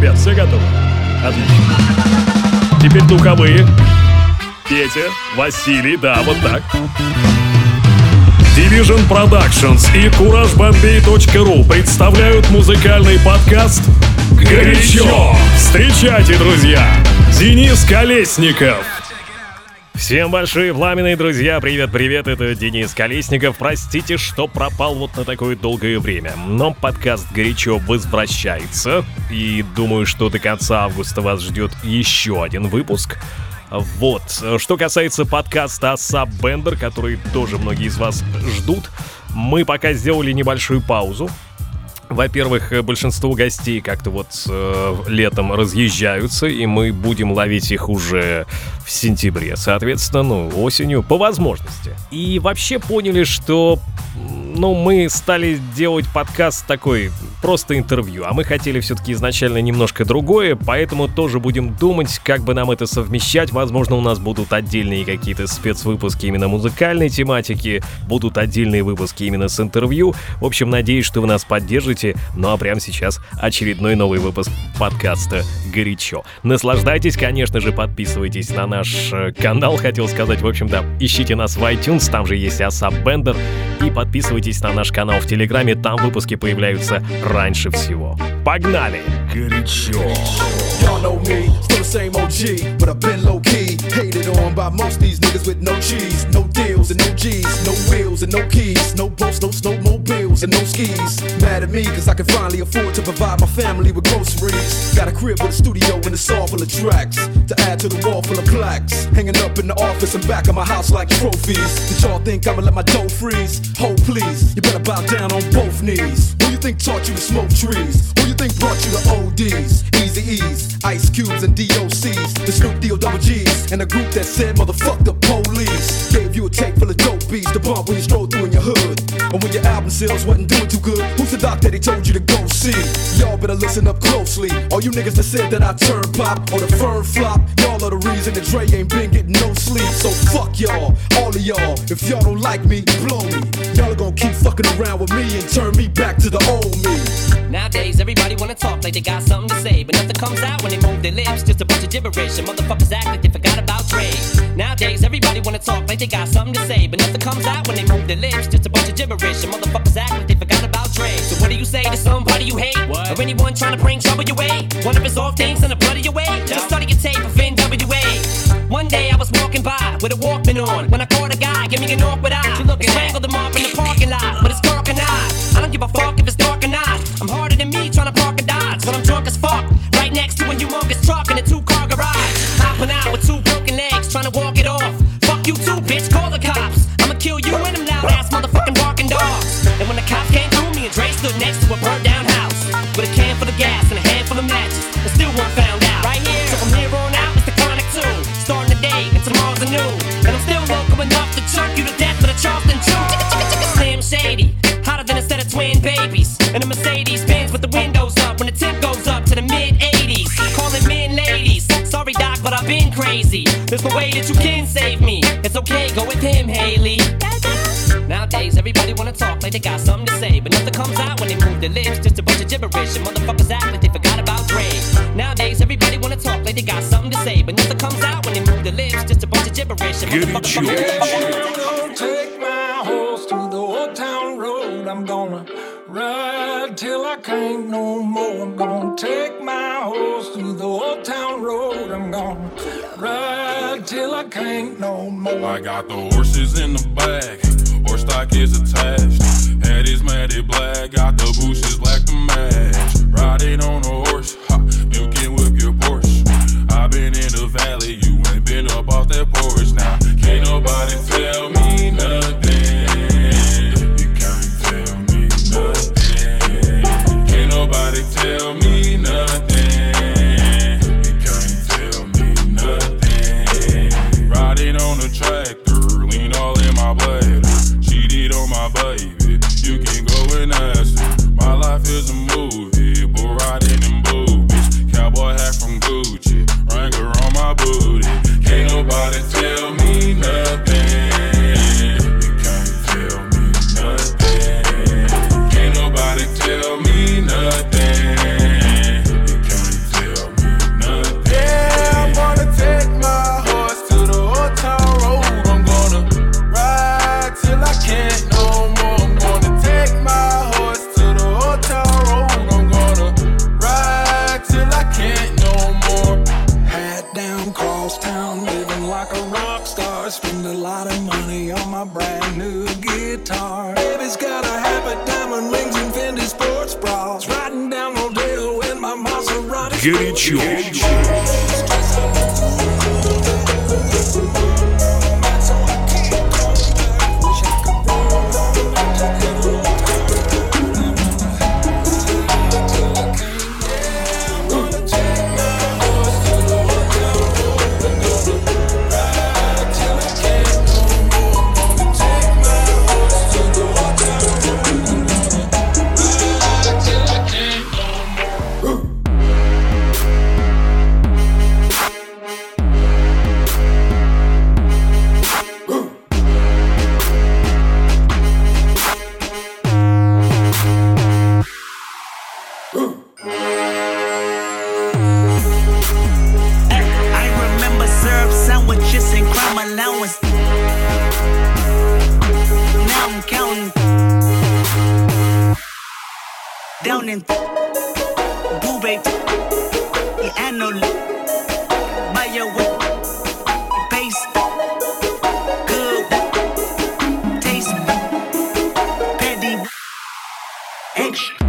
ребят, все готовы? Отлично. Теперь духовые. Петя, Василий, да, вот так. Division Productions и CourageBombay.ru представляют музыкальный подкаст «Горячо». Встречайте, друзья, Денис Колесников. Всем большие пламенные друзья, привет-привет, это Денис Колесников. Простите, что пропал вот на такое долгое время, но подкаст «Горячо» возвращается. И думаю, что до конца августа вас ждет еще один выпуск. Вот, что касается подкаста ASAP Bender, который тоже многие из вас ждут, мы пока сделали небольшую паузу. Во-первых, большинство гостей как-то вот летом разъезжаются, и мы будем ловить их уже в сентябре, соответственно, осенью, по возможности. И вообще поняли, что, мы стали делать подкаст такой, просто интервью, а мы хотели все-таки изначально немножко другое, поэтому тоже будем думать, как бы нам это совмещать. Возможно, у нас будут отдельные какие-то спецвыпуски именно музыкальной тематики, будут отдельные выпуски именно с интервью. В общем, надеюсь, что вы нас поддержите. Ну а прямо сейчас очередной новый выпуск подкаста «Горячо». Наслаждайтесь, конечно же, подписывайтесь на наш канал, хотел сказать, в общем, да, ищите нас в iTunes, там же есть ASAP Bender, и подписывайтесь на наш канал в Телеграме, там выпуски появляются раньше всего. Погнали! Горячо! Y'all know me, still the same OG, but I've been low-key, hated on by most these niggas with no cheese, no deals and no G's, no wheels and no keys, no boats, no snowmobiles and no skis. Mad at me cause I can finally afford to provide my family with groceries. Got a crib with a studio and it's all full of tracks, to add to the wall full of plaques, hanging up in the office and back of my house like trophies. Did y'all think I'ma let my dough freeze? Hold please, you better bow down on both knees. Who you think taught you to smoke trees? Who you think brought you to ODs? Easy E's, Ice Cubes and DOCs, the Snoop D-O-double G's, and a group that said motherfuck the police. Gave you a tape full of dope beats to bump when you stroll through in your hood, and when your album sales wasn't doing too good, who's the doc that he told you to go see? Y'all better listen up closely. All you niggas that said that I turn pop or the firm flop, y'all are the reason that Dre ain't been getting no sleep. So fuck y'all, all of y'all. If y'all don't like me, blow me. Y'all are gonna keep fucking around with me and turn me back to the old me. Nowadays, everybody wanna talk like they got something to say, but nothing comes out when they move their lips. Just a bunch of gibberish, and motherfuckers act like they forgot about Dre. Nowadays, everybody wanna talk like they got something to say, but nothing comes out when they move their lips. Just a bunch of gibberish, and motherfuckers act like they forgot about Dre. So what do you say to somebody you hate? What? Or anyone trying to bring trouble your way? One of his old things in the blood of your way? Just study your tape of NWA. One day I was walking by with a Walkman on, when I caught a guy, give me an awkward eye. You looking strangled him off in the parking lot, but it's dark and I don't give a fuck if it's dark or not. I'm harder than me trying to park a Dodge, but I'm drunk as fuck, right next to a humongous truck in a 2-car garage. Hopping out with 2 broken legs, trying to walk it off. Fuck you too, bitch, call the cops. I'ma kill you and them loud ass motherfucking barking dogs. And when the cops came through, me and Dre stood next to a burned down house, with a can full of gas and a handful of matches, and still weren't found out. Right here, so from here on out, it's the Chronic 2, starting the day and tomorrow's a new. And I'm still welcome enough to choke you to death with a Charleston Chew. Slim Shady, hotter than a set of twin babies, and a Mercedes Benz with the windows up when the temp goes up to the mid-80s. Calling men ladies, sorry doc, but I've been crazy. There's no way that you can save me. It's okay, go with him, Haley. Nowadays, everybody wanna talk like they got something to say, but nothing comes out when they move their lips. Just a bunch of gibberish, and motherfuckers act like they forgot about Dre. Nowadays, everybody wanna talk like they got something to say, but nothing comes out when they move their lips. Just a bunch of gibberish, and motherfuckers I'm gonna take my horse through the old town road. I'm gonna ride till I can't no more. I'm gonna take my horse through the old town road. I'm gonna ride till I can't no more. I got the horses in the back, horse stock is attached. Head is matted black, got the bushes black to match. Riding on a horse, you can whip your Porsche. I've been in the valley, you ain't been up off that porch. Now, can't nobody tell me nothing. You can't tell me nothing. Can't nobody tell me nothing. You can't tell me nothing. Riding on a tractor, lean all in my bladder. Cheated on my baby, you can go and ask her. My life is a movie. Горячо. Down in Boo Babe, the annual by your way, pace, good taste, petty, extra.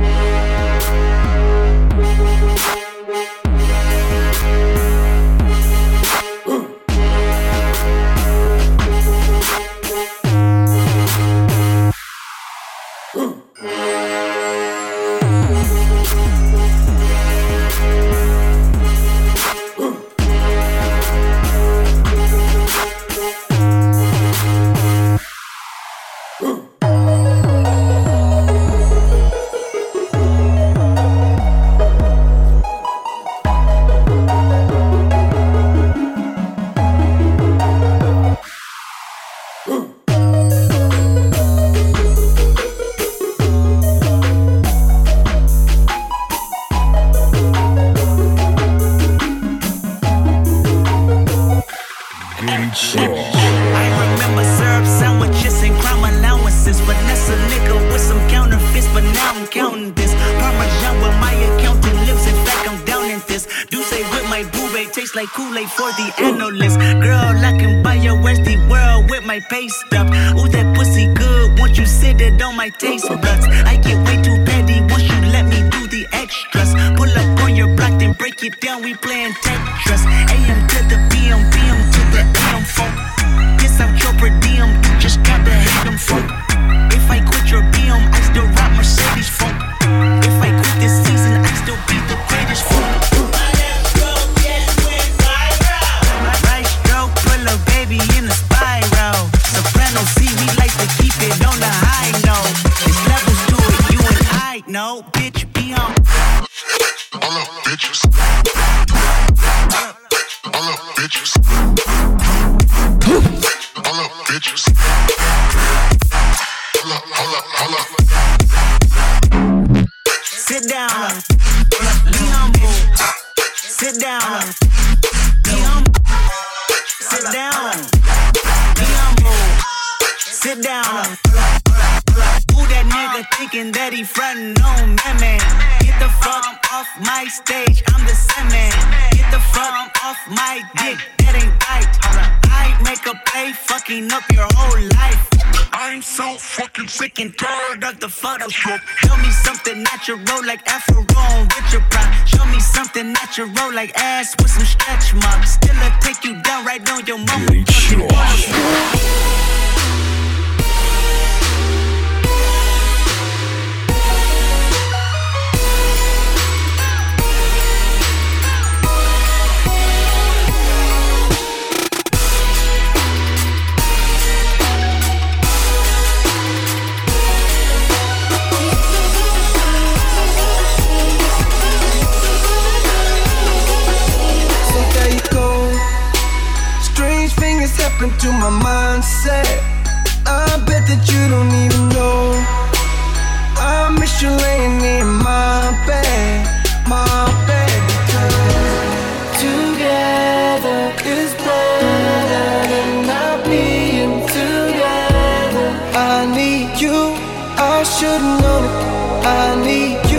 I remember syrup sandwiches and crime allowances. Vanessa nigga with some counterfeits, but now I'm counting this. Parmesan with my accountant lives, in fact I'm down in this. Do say with my boo babe, tastes like Kool-Aid for the analyst. Girl, I can buy your Westie world with my pay stub. Ooh, that pussy good, once you sit it on my taste buds. I get way too petty once you let me do the extras. Pull up on your block, then break it down, we playing Tetris. AM to the PM, PM to the AM phone. Piss out your per diem, you just gotta hate them folk. If I quit your BM, I still rock Mercedes phone. If I quit this season, I still be the greatest folk. Right stroke, pull a baby in a spiral. Soprano C, we like to keep it on the high note. There's levels to it, you and I know. Bitch, be on. All up, bitches. All up, bitches. All up, bitches. Hold up. Sit down. Be humble. Sit down. Be humble. Sit down. Be humble. Sit down. Who that nigga thinking that he frontin' on me, man? Get the fuck off my stage, I'm the same man. Get the fuck off my dick, that ain't right. I make a play, fucking up your whole life. I'm so fucking sick and tired of the Photoshop. Show me something natural like Afro on Richard Pryor. Show me something natural like ass with some stretch marks. Still I'll take you down right on your mama. To my mindset, I bet that you don't even know. I miss you laying in my bed, because together is better than not being together. I need you, I should've known it. I need you.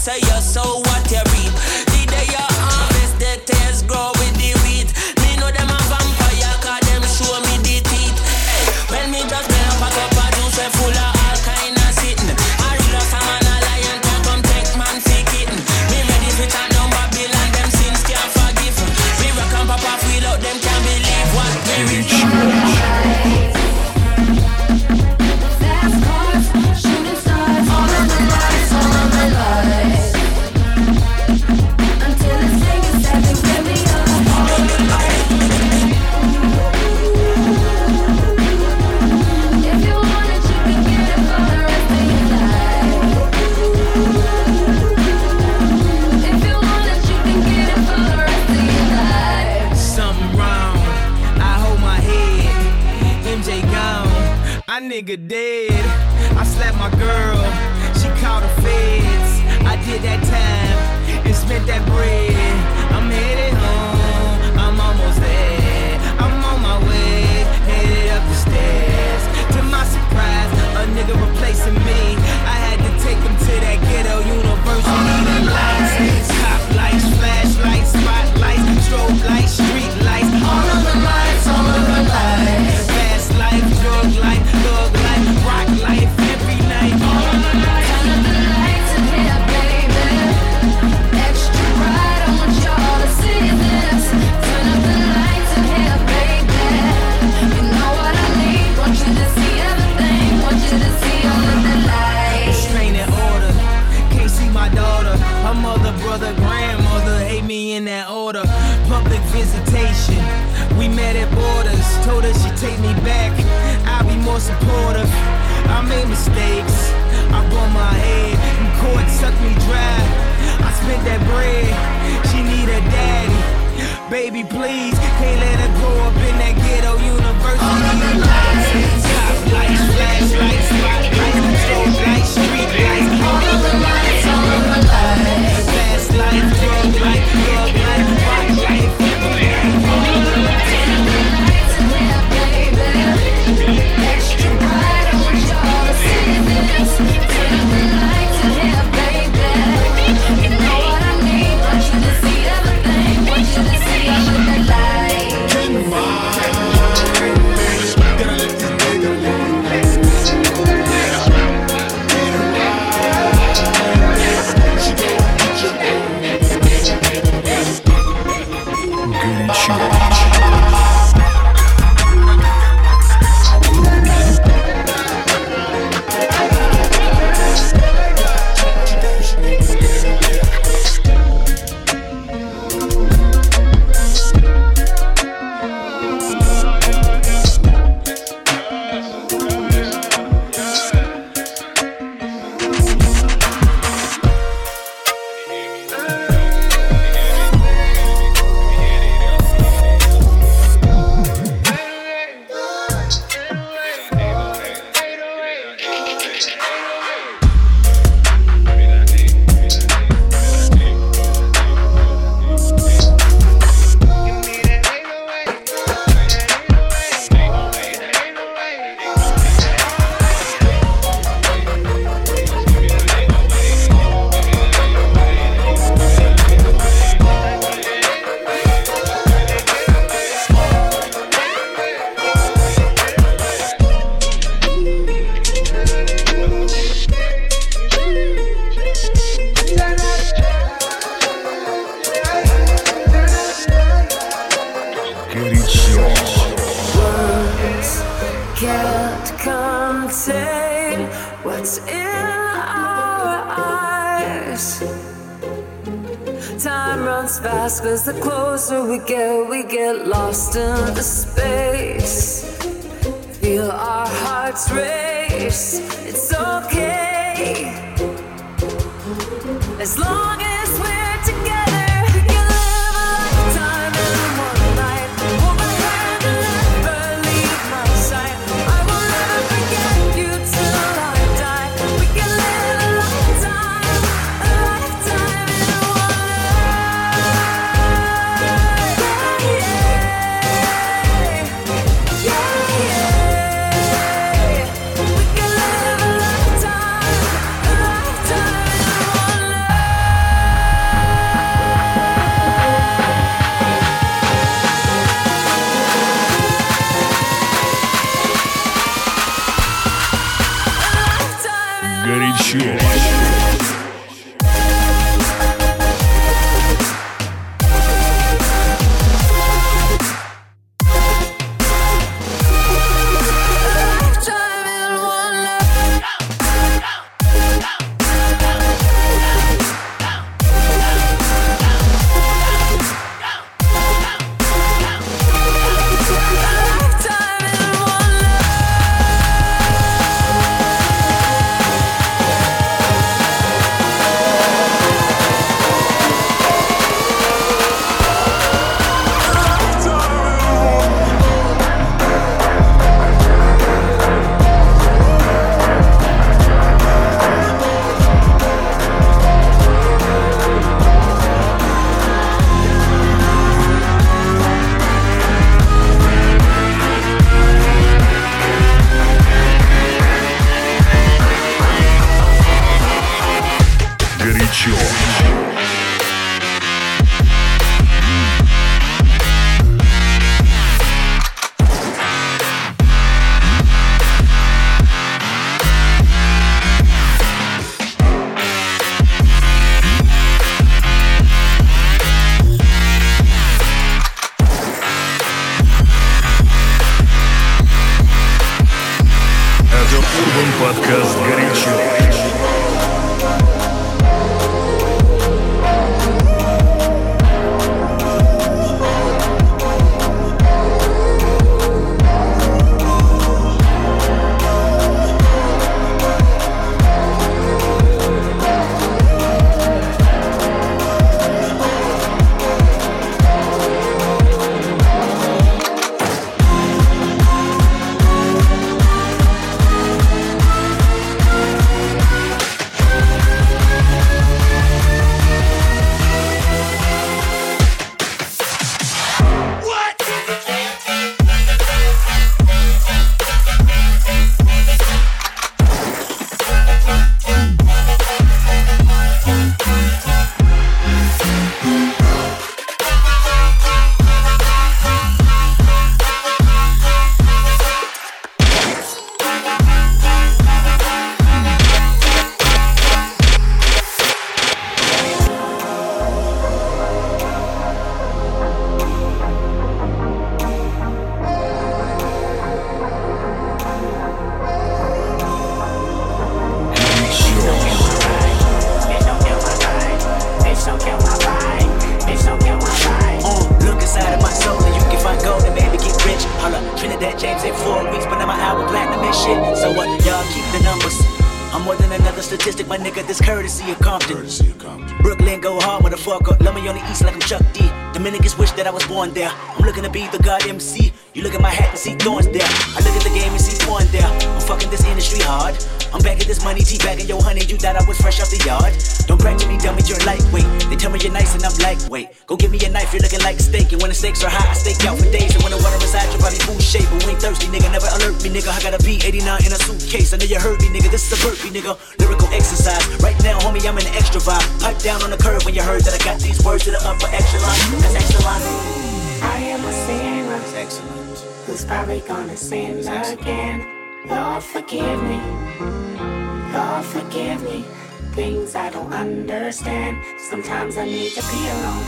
say you sow what you reap. The day you harvest, the tares grow with the wheat. Me know them a vampire, cause them show me the teeth. Hey, when me just play up a cup of juice full of all kind of sitting. I read a song and a lion can come take man for kitten. Me ready for turn down Babylon, them sins can't forgive. Me rock and pop off without them can't believe what we reach. Fast cars, shooting stars, all of the lights, all of the lights. Until it's taken seven, give me up. All of the lights. If you want it, you can get it for the rest of your life. If you want it, you can get it for the rest of your life. Something wrong, I hold my head. MJ gone, I nigga dead. I slapped my girl, she called the feds. I did that time and spent that bread. I'm headed home, I'm almost there. I'm on my way, headed up the stairs. To my surprise, a nigga replacing me. I had to take him to that ghetto university. The lights, top lights, flashlights, spotlights, strobe lights, street lights. All of the lights, all of the lights. Fast life, drug life, thug life, rock life, every night. All of the lights. Turn up the lights in here, baby. Extra bright, I want y'all to see this. Turn up the lights in here, baby. You know what I need. Want you to see everything. Want you to see all of the lights. Restraining order, can't see my daughter. Her mother, brother, grandmother hate me in that order. Public visitation, we met at borders. Told her she'd take me back, I'll be more supportive. I made mistakes, I bumped my head, and court sucked me dry. I spent that bread, she need a daddy. Baby, please, can't let her grow up in that ghetto university. All of the lights, top lights, flashlights, spotlights, strobe lights, street lights. All of the lights, all of the lights. Fast life, drug life, thug life, rock life, everything. All of the lights. Turn up the lights in here, baby. Extra bright, I want y'all to see this. Turn up the lights in here, baby. You know what I need. Want you to see everything. Want you to see all of the lights. what's in our eyes. Time runs fast, cause the closer we get lost in the space. Feel our hearts race, it's okay. As long as we're together, we can live a lifetime in one night. Hold my hand and never leave my side. I will never forget you till I die. We can live a lifetime in one life. We can live a lifetime in one life. Горячо. Подкаст «Горячо». There. I'm looking to be the god MC. You look at my hat and see thorns there. I look at the game and see porn there. I'm fucking this industry hard. I'm back at this money, teabagging your honey. You thought I was fresh off the yard. Don't brag to me, dummy, you're lightweight. They tell me you're nice and I'm lightweight. Go give me a knife, you're looking like a steak. And when the stakes are high, I stake out for days. And when the water is hot, your body food shape. But we ain't thirsty, nigga, never alert me, nigga. I got a B89 in a suitcase. I know you heard me, nigga. This is a burpee, nigga. Lyrical exercise. Right now, homie, I'm in an extra vibe. Pipe down on the curve when you heard that I got these words to the upper echelon. That's excellent. I am a sinner. Excellent. Who's probably gonna sin again. Lord, forgive me. Lord, forgive me. Things I don't understand. Sometimes I need to be alone.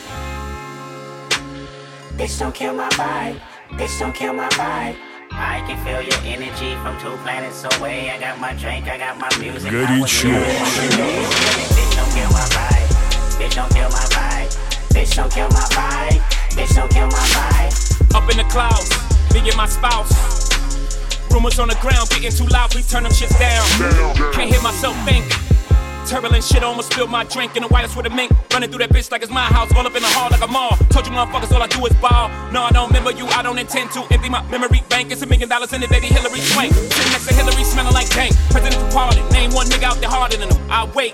Bitch, don't kill my vibe. Bitch, don't kill my vibe. I can feel your energy from 2 planets away. I got my drink, I got my music. Горячо. Bitch, don't kill my vibe. Bitch, don't kill my vibe. Bitch, don't kill my vibe. Bitch, don't kill my vibe. Up in the clouds, me and my spouse. Rumors on the ground getting too loud, please turn them shits down. Can't hear myself think. Turbulent shit, almost spilled my drink in the wireless with a mink. Running through that bitch like it's my house, all up in the hall like a mall. Told you motherfuckers all I do is ball. No, I don't remember you, I don't intend to empty my memory bank. It's $1 million in it, baby Hillary Swank. Sitting next to Hillary, smelling like dank. President departed, name one nigga out there harder than him. I wait.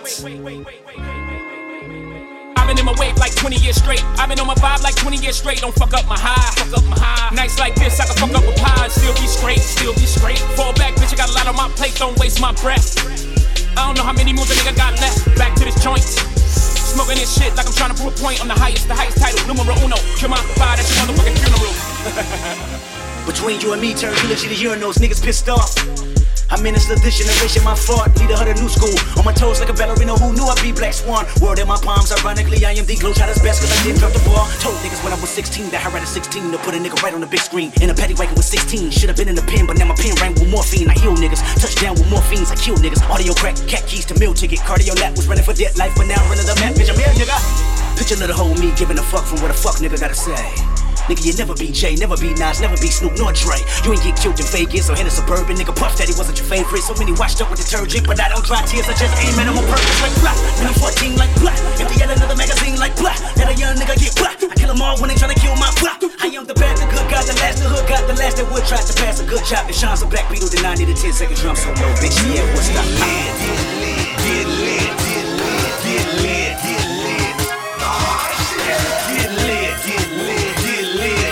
I've been in my wave like 20 years straight. I've been on my vibe like 20 years straight. Don't fuck up my high, fuck up my high. Nights like this, I can fuck up with pie and still be straight, still be straight. Fall back, bitch, I got a lot on my plate, don't waste my breath. I don't know how many moves a nigga got left. Back to this joint. Smoking this shit like I'm trying to prove a point. I'm the highest title, numero uno. Kill my vibe at your motherfucking funeral. Between you and me, turn eulogy to urinals, niggas pissed off. I'm in this this generation, my fault, leader of the new school. On my toes like a ballerina who knew I'd be Black Swan. Word in my palms, ironically, I am the Globetrotter's best cause I didn't drop the ball. Told niggas when I was 16 that I had a 16 to put a nigga right on the big screen. In a paddy wagon with 16, should've been in the pen, but now my pen rang with morphine. I heal niggas, touchdown with morphines, I kill niggas. Audio crack, cat keys to meal ticket. Cardio lap was running for dead life, but now running the map, bitch, I'm here, nigga. Picture little whole me giving a fuck from what a fuck nigga gotta say. Nigga, you never be Jay, never be Nas, never be Snoop nor Dre. You ain't get killed in Vegas or in a suburban. Nigga, Puff Daddy wasn't your favorite. So many washed up with detergent, but I don't dry tears. I just aim at them on purpose like blah. When I'm 14 like blah. If they get another magazine like blah, let a young nigga get blah. I kill them all when they tryna kill my blah. I am the bad, the good, got the last, the hood, got the last that would try to pass a good chop. It shines a Black Beetle, then I need a 10-second drum solo. Bitch, yeah, what's up? Get lit, get lit, get lit, get lit, get lit. Get lit, get lit, get lit.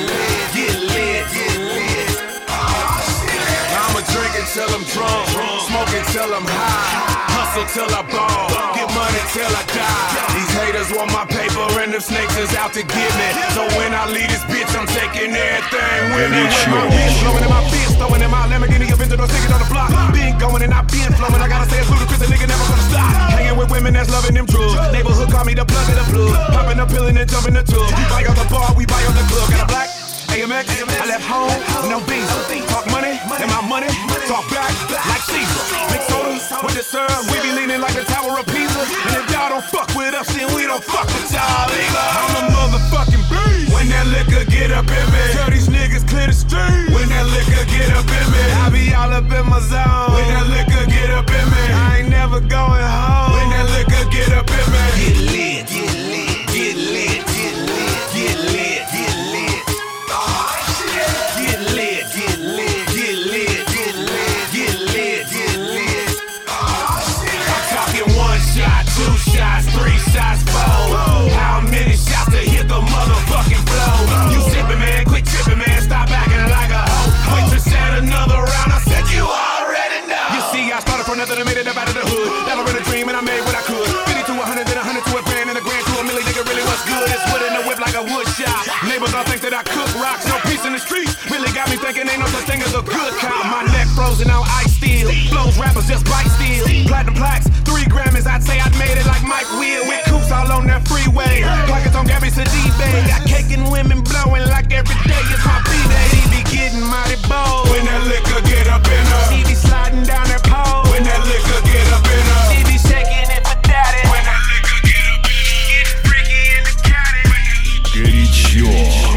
Till I'm drunk, smoking till I'm high, hustle till I ball, get money till I die. These haters want my paper and them snakes is out to get me. So when I leave this bitch, I'm taking everything with me. With my wrist blowing in my fist, throwing in my Lamborghini, Aventador, sticking on the block. Been going and I been flowing. I gotta say it's ludicrous, a nigga never gonna stop. Hanging with women that's loving them drugs. Neighborhood call me the plug of the plug. Popping the pill and then jumping the tub. You buy on the bar, we buy on the club. Got a black AMX, I left home with no beans. Talk money, and my money talk back like Caesar. Big soda with the syrup, we be leaning like the Tower of Pisa. And if y'all don't fuck with us, then we don't fuck with y'all either. I'm a motherfucking beast. When that liquor get up in me, tell these niggas clear the street. When that liquor get up in me, I be all up in my zone. When that liquor get up in me, I ain't never going home. When that liquor get up in me, get lit, get lit, get lit, get lit, get lit, get lit. Get lit, get lit, get lit, get lit, get lit, get lit. I'm talking 1 shot, 2 shots, 3 shots, 4. How many shots to hit the motherfucking blow? You sippin', man, quit trippin', man, stop acting like a hoe. Wait to set another round, I said you already know. You see, I started from nothing and made it up out of the hood. Never in a dream and I made what I could. 50 to 100, then 100 to a grand, and a grand to a million, nigga, really what's good? It's wood in the whip like a wood shop. Neighbors all think that I cook rocks, no peace in the streets. Really got me thinking ain't no such thing as a good cop. My neck frozen on ice steel. Flows rappers just bite steel. Platinum plaques, 3 Grammys. I'd say I'd made it like Mike Will. With coops all on that freeway. Pockets on Gabby Sidibe. Got cake and women blowing like every day is my B-day. She be getting mighty bold. When that liquor get up in her. She be sliding down that pole. When that liquor get up in her. She be shaking it for daddy. When that liquor get up in her. Get freaky in the caddy. Горячо.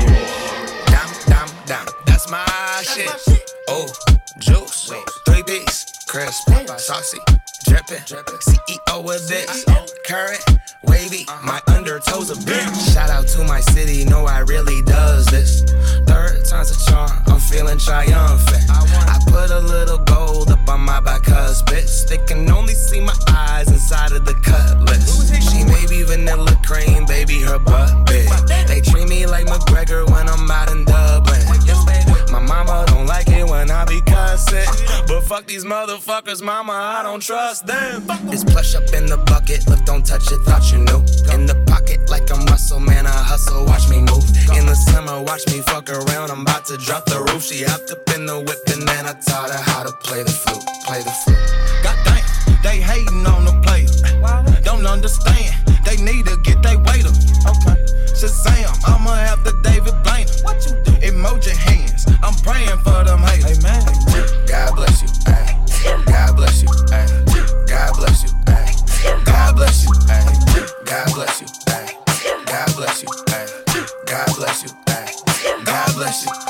That's my shit. Oh, juice, 3 B's, crisp, saucy, drippin'. CEO with this, current, wavy. My undertoes a bitch. Shout out to my city, know I really does this. 3rd time's a charm, I'm feeling triumphant. I put a little gold up on my back husband. They can only see my eyes inside of the cutlass. She may be vanilla cream, baby, her butt big. They treat me like McGregor when I'm out in Dublin. My mama don't like it when I be cussing, but fuck these motherfuckers, mama, I don't trust them. It's plush up in the bucket, look, don't touch it, thought you knew. In the pocket like I'm Russell, man, I hustle, watch me move. In the summer, watch me fuck around, I'm about to drop the roof. She hopped up in the whip and then I taught her how to play the flute, play the flute. Goddamn, they hating on the player, don't understand, they need to get they weight up. Okay, Shazam, I'ma have the David Blaine. What you do? Emoji hands, I'm praying for them haters. Amen. God bless you, ay. God bless you, ay. God bless you, ay. God bless you, ay. God bless you, ay. God bless you, ay. God bless you, ay. God bless you,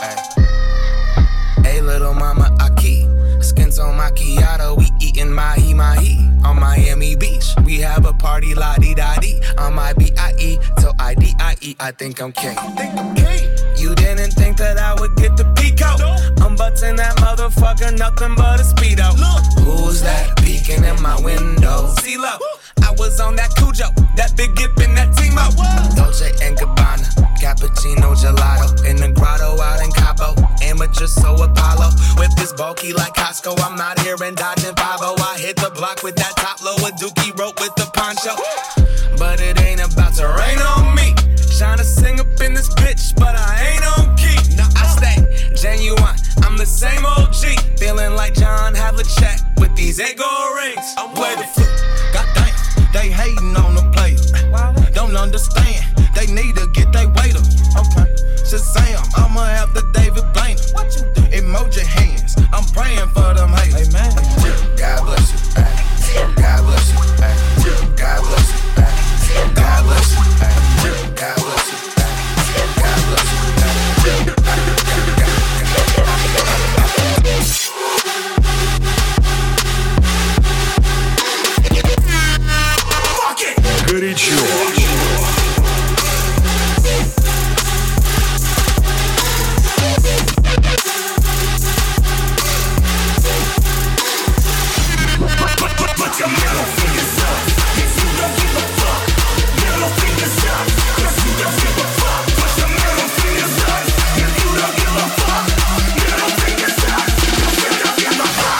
ay. Hey, little mama, Aki. Skins on macchiato, we eatin' mahi-mahi. On Miami Beach, we have a party la-di-da-di. On my B-I-E till I-D-I-E, I think I'm king. You didn't think that I would get the peak out. I'm butting that motherfucker, nothing but a speedo. Who's that peeking in my window? CeeLo, I was on that Cujo, that big gip in that Timo. Dolce & Gabbana, cappuccino gelato. In the grotto out in Cabo, amateur so Apollo. Whip is bulky like Costco, I'm out here and dodging 5-0. I hit the block with that top low, a dookie rope with the poncho. But it ain't about to rain on me. Tryna sing up in this bitch, but I ain't on key. I stay genuine, I'm the same OG. Feeling like John Havlicek with these Ego rings. I'm way the flip. Goddamn, they hating on the player. Don't understand, they need to get their weight up. Okay. Shazam, I'ma have the David Blaine. What you do? Emoji hands, I'm praying for them haters. Amen. God bless you. God bless you. God bless you. God bless you. God bless you. God bless you. Горячо. Put your middle fingers up if you don't give a fuck. Middle fingers up, 'cause you don't give a fuck. Put your middle fingers up if you don't give a fuck. Middle fingers up if you don't give a fuck.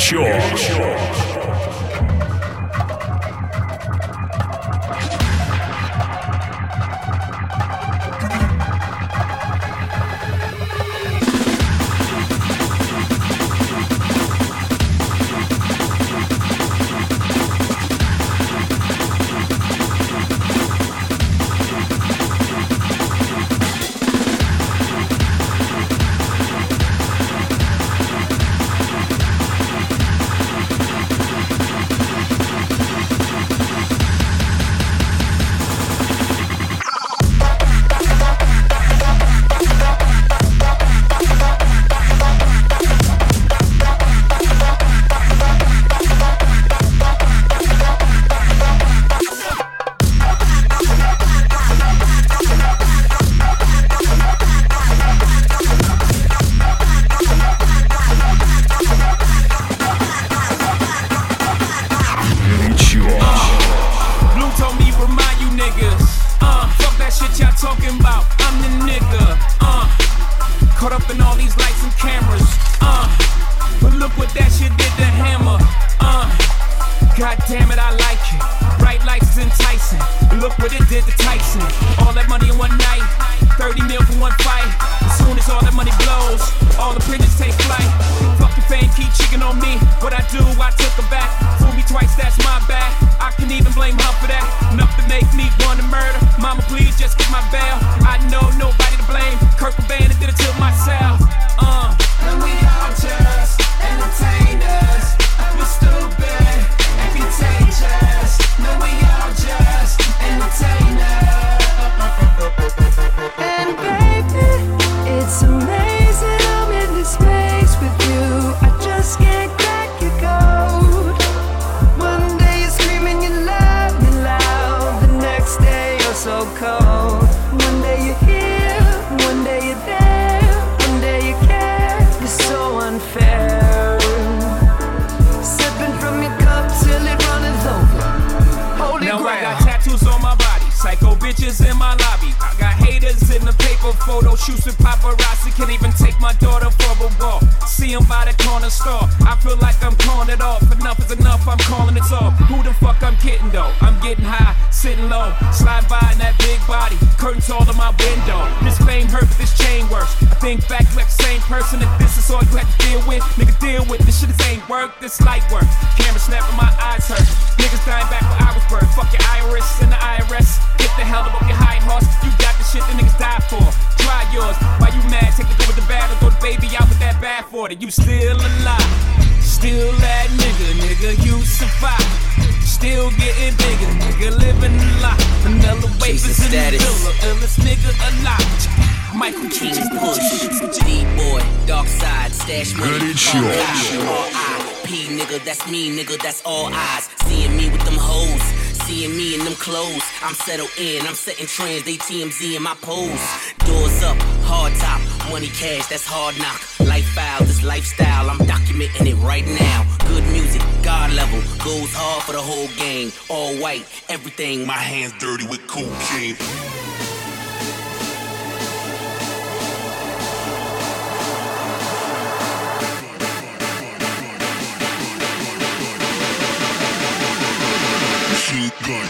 Горячо. You still alive, still that nigga, you survive. Still getting bigger, nigga, living a lot. Vanilla wafers in the villa, illest nigga alive. Michael King Push, D-boy, dark side, stash money, R.I.P. nigga, that's me, nigga, that's all eyes. Seeing me with them hoes, seeing me in them clothes. I'm settled in, I'm setting trends, they TMZ in my pose. Doors up, hard top, money cash, that's hard knock. Lifestyle, this lifestyle, I'm documenting it right now. Good music, God level, goes hard for the whole gang. All white, everything, my hands dirty with cocaine. Gun.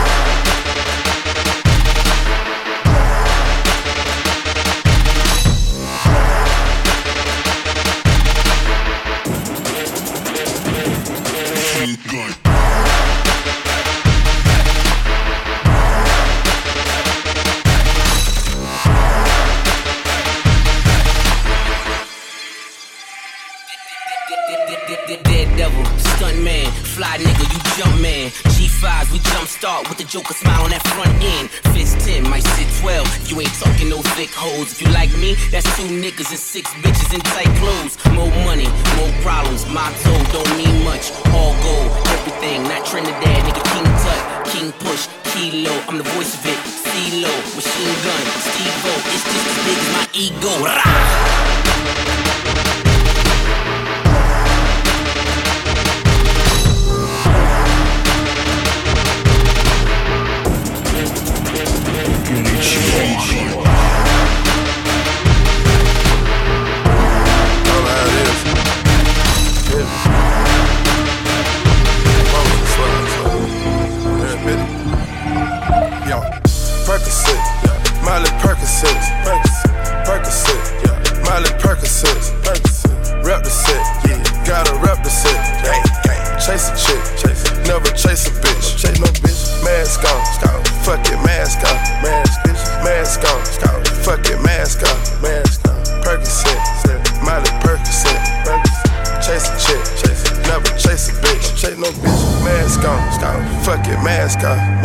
Daredevil, stunt man, fly nigga, you jump man. G5s, we jump start with the Joker smile on that front end. Fist 10, might sit 12. If you ain't talking no thick hoes. If you like me, that's 2 niggas and 6 bitches in tight clothes. More money, more problems. Motto don't mean much. All gold, everything, not Trinidad, nigga. King Tut, King Push, Kilo. I'm the voice of it. CeeLo, machine gun, Steve-O. It's just as big as my ego. Rah! Yeah.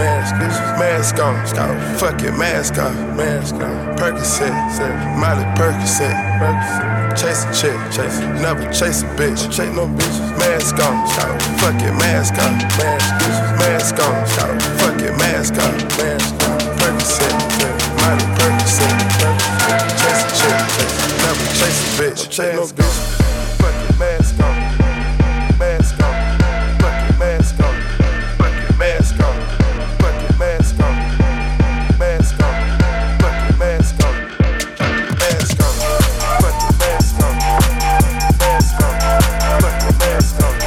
Mask on, fucking mask off. Percocet, Miley Percocet. Chase a chick, never chase a bitch. Chase no bitches. Mask on, fucking mask off. Mask on, fucking mask off. Percocet, Miley Percocet. Chase a chick, never chase a bitch. Chase no bitches. Fucking mask on, mask on, fucking mask on, fucking mask on, fucking mask on, mask on, fucking mask on, mask on, fucking mask on, mask on, fucking mask on,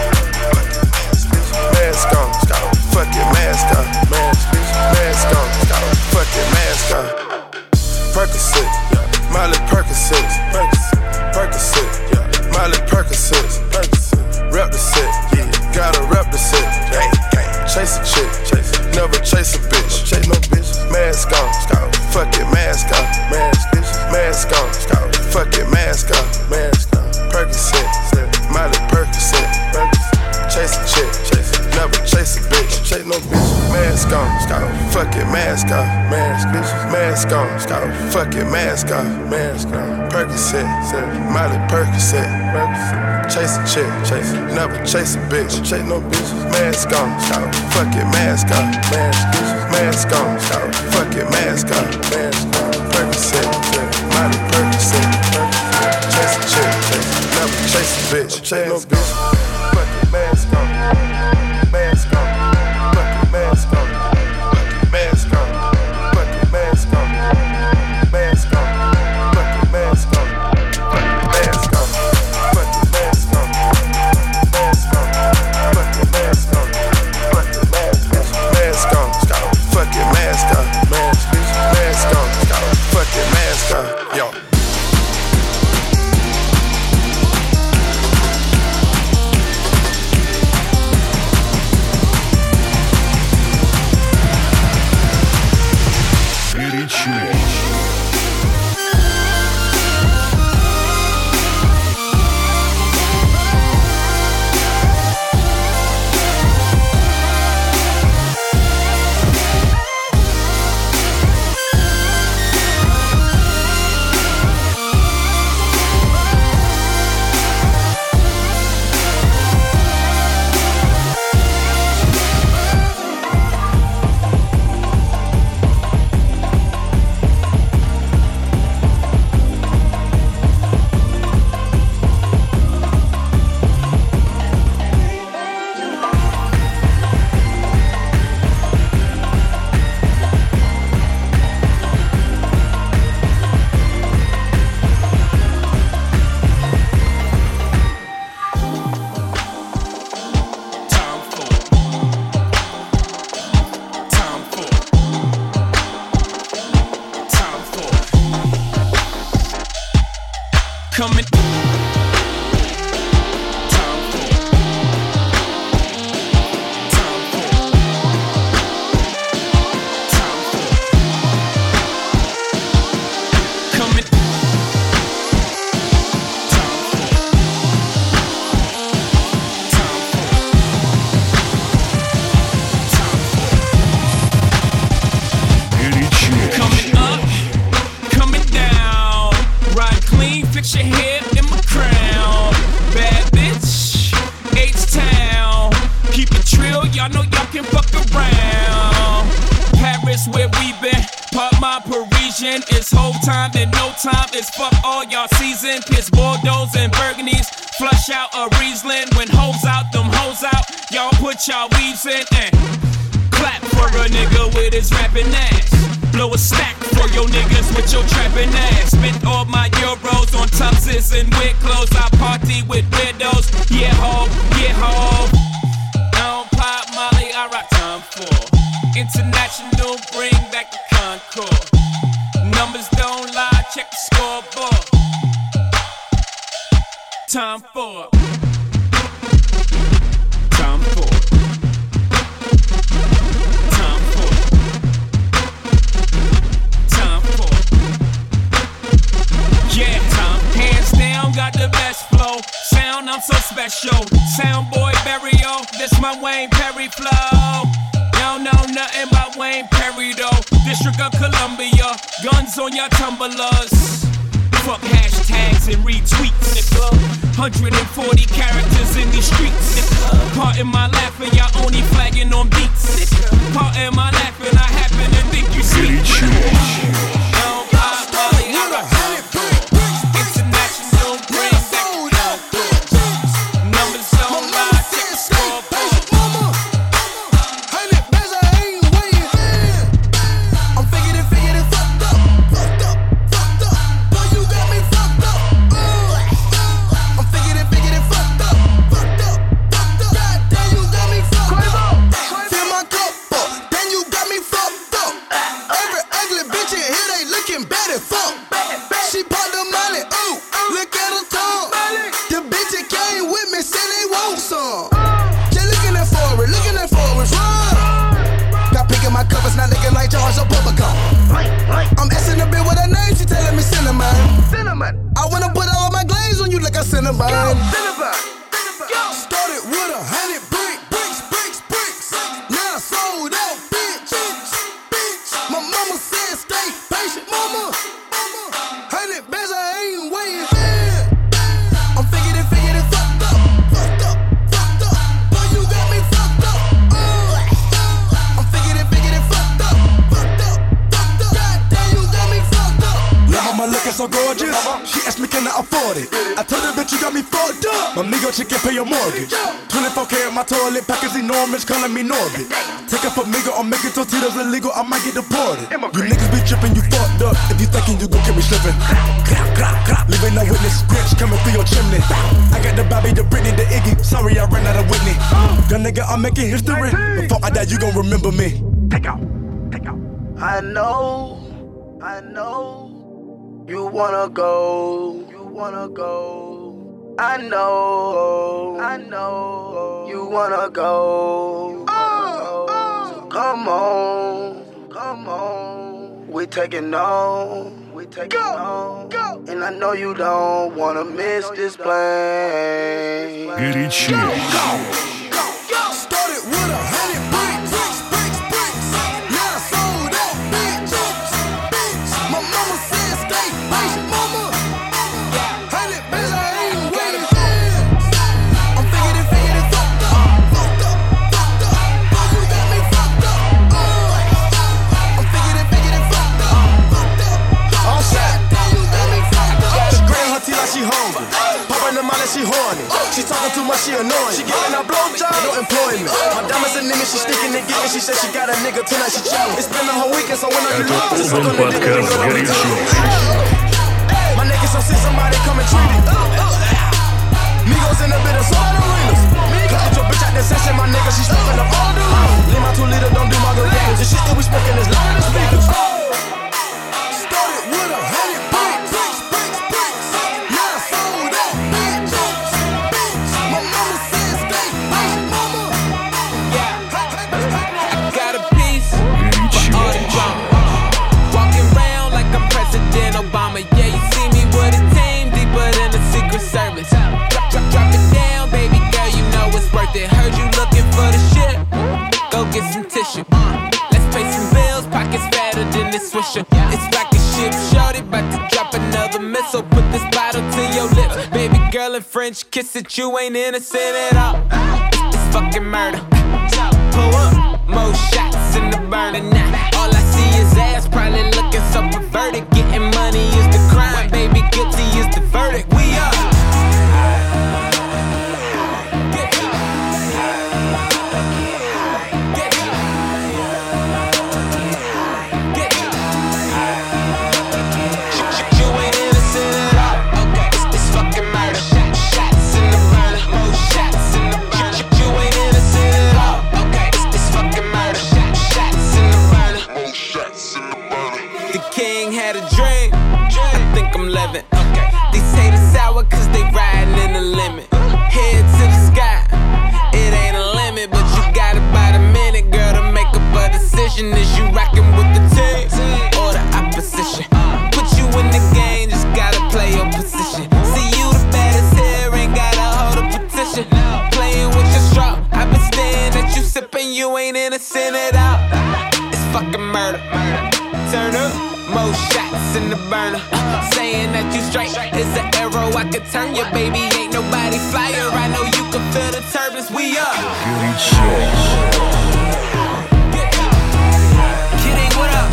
mask on, fucking mask on, mask on, fucking mask on. Percocet, Miley Percocet, Percocet, Miley Percocet, rep the set, gotta rep the set. Chase a chick, never chase a bitch. Chase no bitch. Mask on, fucking mask off. Mask on, fucking mask off. Percocet, Miley Percocet. Chase a chick, never chase a bitch. Chase no bitch. Mask on, fucking mask off. Mask on, fucking mask off. Percocet, Miley Percocet. Chase a chick, never chase a bitch. Chase no bitch. Mask on, fucking mask off. Mask on, fucking mask off. Percocet, Miley Percocet. Chase a chick, never chase a bitch. Chase no bitch. Fucking mask on, mask on, fucking mask on, fucking mask on, fucking mask on, mask on, fucking mask on, fucking mask on, fucking mask on, mask on, fucking mask on, fucking mask on, fucking mask on, mask on, fucking mask on, yo. Coming. Fix your hair in my crown. Bad bitch, H-Town. Keep it trill, y'all know y'all can fuck around. Paris where we been, part my Parisian. It's whole time and no time, it's fuck all y'all season. Piss Bordeaux and Burgundies, flush out a Riesling. When hoes out, them hoes out, y'all put y'all weaves in and clap for a nigga with his rapping ass. Blow a stack for your niggas with your trapping ass. Spent all my euros on tuxes and weird clothes. I party with weirdos. Yeah, ho, yeah, ho. I don't pop Molly, I rock time for international, bring back the Concord. Numbers don't lie, check the scoreboard. Time for. Time for. Yeah, hands down, got the best flow. Sound, I'm so special. Sound boy Barrio, this my Wayne Perry flow. Y'all know nothing about Wayne Perry though, District of Columbia, guns on your tumblers. Fuck hashtags and retweets, nigga. 140 characters in these streets. Pardon my laughing, y'all only flagging on beats. Pardon my laughing, I happen to think you see. I'm asking a bit what her name, she telling me cinnamon. I wanna put all my glaze on you like a cinnamon. Started with 100 bricks. Now I sold out, bitch. My mama said stay patient, mama. 100 bands, I ain't waiting. I'm figured it fucked up. Boy, you got me fucked up. I'm figured it fucked up. Goddamn, you got me fucked up. Now mama looking so gorgeous, she asked me can I afford it. I told her bitch you got me fucked up. My nigga chick can pay your mortgage. 24K at my toilet pack is enormous, calling me Norbit. Take up a nigga or make it to Tito's illegal, I might get deported. You niggas be tripping, you fucked up. If you thinking you gon' get me slipping, leaving no witness, scratch coming through your chimney. I got the Bobby, the Britney, the Iggy. Sorry I ran out of Whitney. Young nigga, I'm making history. Before I die, you gon' remember me. Take out. I know. You wanna go. I know. You wanna go. So come on. We taking on. Go. And I know you don't wanna miss this plane. Горячо. Started with 100 bricks. Now I sold out, bitch. My mama said stay patient, mama. 100 bands, I ain't waiting. I'm figured it fucked up. Boy, you got me fucked up. I'm figured it fucked up. All set. You got me fucked up. She grab her teeth like she hungry. Poppin' them out like she horny. She talking too much, she annoying. She giving a blowjob, no employment. My diamonds and limit, she sticking and getting. She said she got a nigga tonight, she chillin'. It's been a whole weekend, so when I get lost, it's Полный подкаст горячо. my niggas, so see somebody come and treat it. Migos in a bit of soda arenas. Cut your bitch out the session, my nigga, she smoking up all the rules. Leave my 2 liter, don't do margaritas. The shit that we smoking is loud in the speakers. Started with 100 bricks. Now I sold out, bitch. My mama said stay patient, mama. Got a piece for all the drama. Walking around like I'm President Obama. Yeah, you see me with a team deeper than the Secret Service. Drop it down, baby girl, you know it's worth it. Heard you looking for the shit. Go get some tissue. Let's pay some bills, pockets fatter than this Swisher. It's like a ship, shorty, about to drop another missile. Put this bottle to your lips, baby girl, in French kiss it. You ain't innocent at all. It's fucking murder. Pull up, more shots in the burner now. All I see is ass, probably looking so perverted. Getting money is the crime, baby, guilty is the verdict. We up. Had a dream, I think I'm living. These haters sour cause they riding in the limit. Head to the sky, it ain't a limit. But you got about a minute, girl, to make up a decision. Is you rockin' with the team or the opposition? Put you in the game, just gotta play your position. See you the baddest here, ain't gotta hold a petition. Playing with your straw, I've been staring at you sipping, you ain't innocent at all. It's fucking murder. Turn up, more shots in the burner. Saying that you straight is an arrow I could turn you, baby. Ain't nobody flyer. I know you can feel the turbulence. We up. Kidding, what up?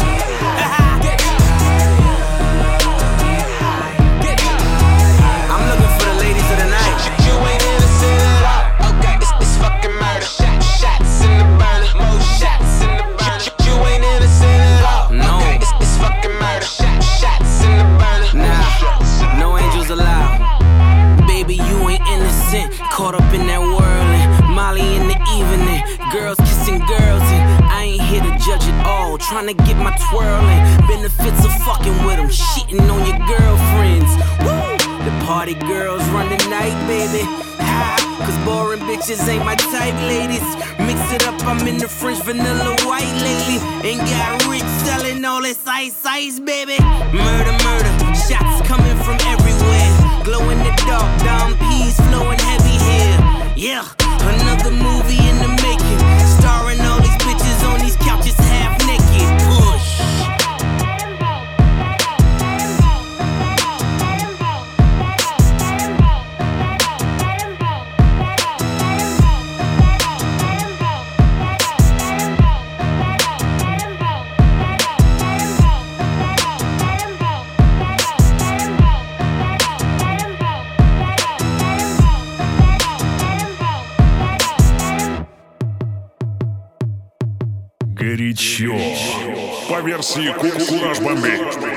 I'm looking for the ladies of the night. You ain't innocent at all. Okay, it's fucking murder. Shots in the burner. More shots in the burner. You ain't innocent at all. No, okay, it's fucking murder. Shots in the burner. Nah, no angels allowed. Baby, you ain't innocent. Caught up in that whirling. Molly in the evening. Girls kissing girls, and I ain't here to judge it all. Trying to get my twirling. Benefits of fucking with them. Shitting on your girlfriends. Woo! The party girls run the night, baby. Cause boring bitches ain't my type, ladies. Mix it up, I'm in the French vanilla white lately. Ain't got rich selling all this ice, baby. Murder, murder, shots coming from everywhere. Glow in the dark, down peas flowing heavy here. Yeah, another movie in the making. Starring all these bitches on these couches half naked. Push. Горячо. По версии Кураж Бомбей.